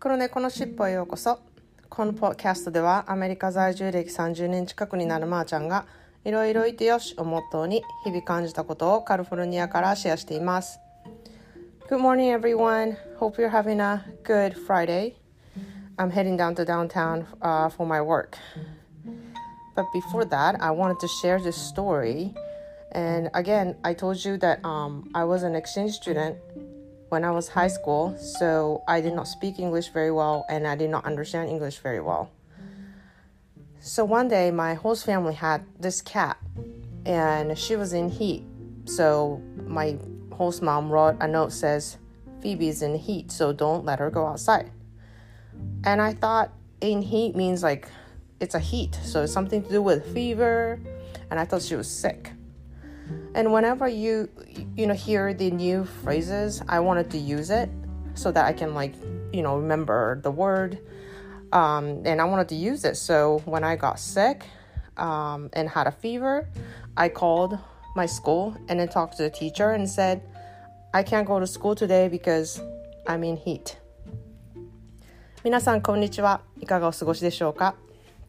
黒猫のしっぽへようこそ。このポッドキャストではアメリカ在住歴30年近くになるまーちゃんがいろいろいてよしをモットーに日々感じたことをカリフォルニアからシェアしています。Good morning everyone. Hope you're having a good Friday. I'm heading down to downtown for my work. But before that, I wanted to share this story. And again, I told you that I was an exchange student when I was high school, so I did not speak English very well and I did not understand English very well. So one day, my host family had this cat and she was in heat. So my host mom wrote a note that says, Phoebe's in heat, so don't let her go outside. And I thought in heat means like it's a heat, so it's something to do with fever, and I thought she was sick. And whenever you hear the new phrases, I wanted to use it so that I can remember the word, and I wanted to use it. So when I got sick and had a fever, I called my school and then talked to the teacher and said, I can't go to school today because I'm in heat. 皆さんこんにちは。いかがお過ごしでしょうか。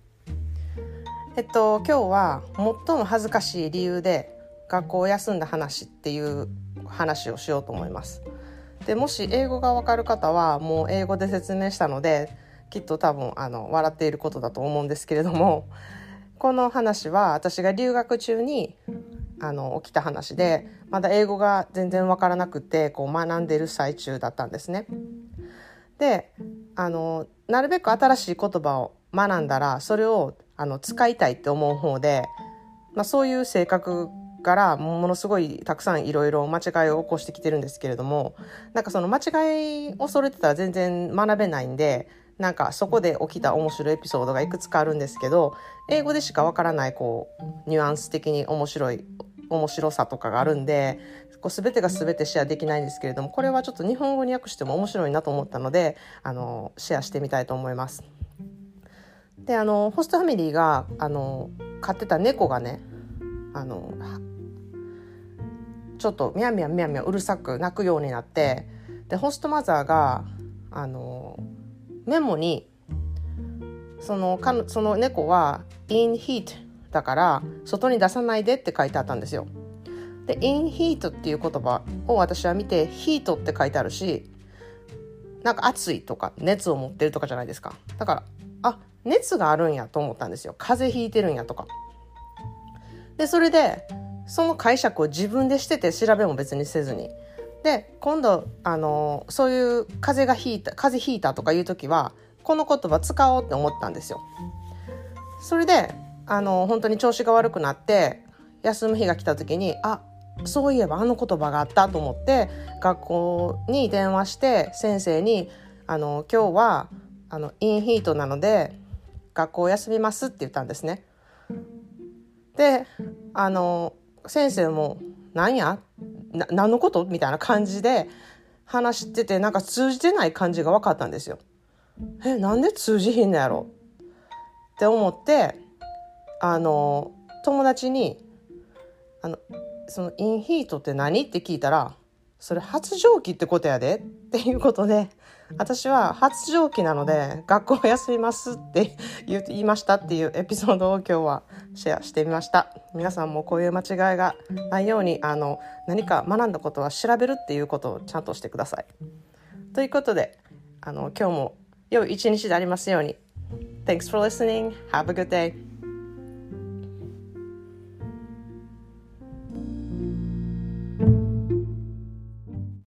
今日は最も恥ずかしい理由で学校を休んだ話っていう話をしようと思います。でもし英語がわかる方はもう英語で説明したのできっと多分笑っていることだと思うんですけれども、この話は私が留学中に起きた話で、まだ英語が全然わからなくて学んでいる最中だったんですね。でなるべく新しい言葉を学んだらそれを使いたいって思う方で、そういう性格からものすごいたくさんいろいろ間違いを起こしてきてるんですけれども、その間違いを恐れてたら全然学べないんで、そこで起きた面白いエピソードがいくつかあるんですけど、英語でしかわからないニュアンス的に面白さとかがあるんで、全てが全てシェアできないんですけれども、これはちょっと日本語に訳しても面白いなと思ったのでシェアしてみたいと思います。でホストファミリーが飼ってた猫がねちょっとミャンミャンミャンミャンうるさく鳴くようになって、でホストマザーがメモにその猫は in heat だから外に出さないでって書いてあったんですよ。で in heat っていう言葉を私は見て heat って書いてあるし、暑いとか熱を持ってるとかじゃないですか。だから熱があるんやと思ったんですよ。風邪ひいてるんやとか。でそれでその解釈を自分でしてて、調べも別にせずに、で今度そういう風邪ひいたとかいう時はこの言葉使おうって思ったんですよ。それで本当に調子が悪くなって休む日が来た時にそういえば言葉があったと思って学校に電話して先生に今日はインヒートなので学校を休みますって言ったんですね。で先生も何のことみたいな感じで話してて、通じてない感じが分かったんですよ。なんで通じひんのやろって思って友達にそのインヒートって何って聞いたら、それ発情期ってことやでっていうことで、私は発情期なので学校休みますって言いましたっていうエピソードを今日はシェアしてみました。皆さんもこういう間違いがないように何か学んだことは調べるっていうことをちゃんとしてください。ということで今日も良い一日でありますように。Thanks for listening. Have a good day.